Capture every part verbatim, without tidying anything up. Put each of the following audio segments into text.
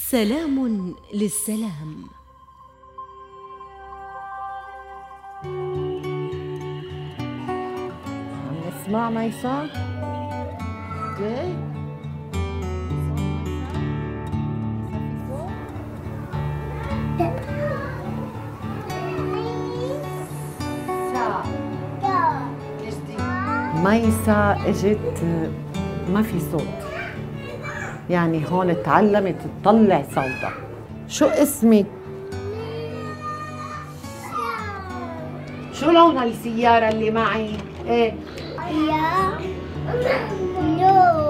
سلام للسلام. عم نسمع ميسا؟ ليه؟ ميسا اجت ما في صوت، يعني هون تعلمت تطلع صوتها. شو اسمك؟ شو لون السيارة اللي معي؟ ايه؟ يا نو.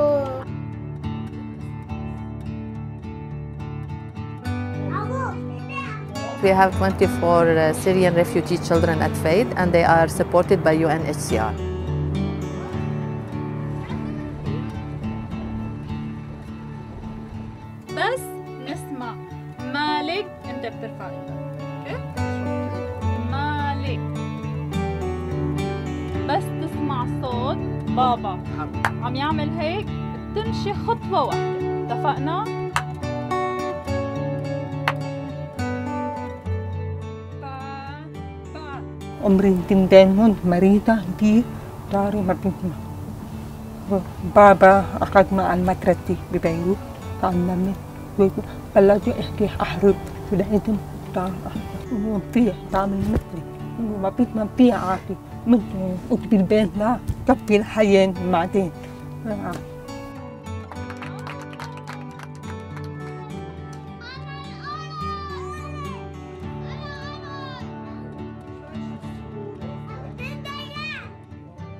We have twenty-four uh, Syrian refugee children at FAID and they are supported by U N H C R. بس نسمع مالك انت بترفع ايدك، مالك. بس تسمع صوت بابا عم يعمل هيك بتمشي خطوة واحدة، اتفقنا؟ عمري تنتين هون مريضة دي داري ما بنتنا. بابا أخذ مع المدرسة ببيروت تعلمت بلشت أحكي أحرب بدأت تعرف وفيه تعمل مثلي ما بيت ما بيع عادي من بالبيت لا كفي الحياة بعدين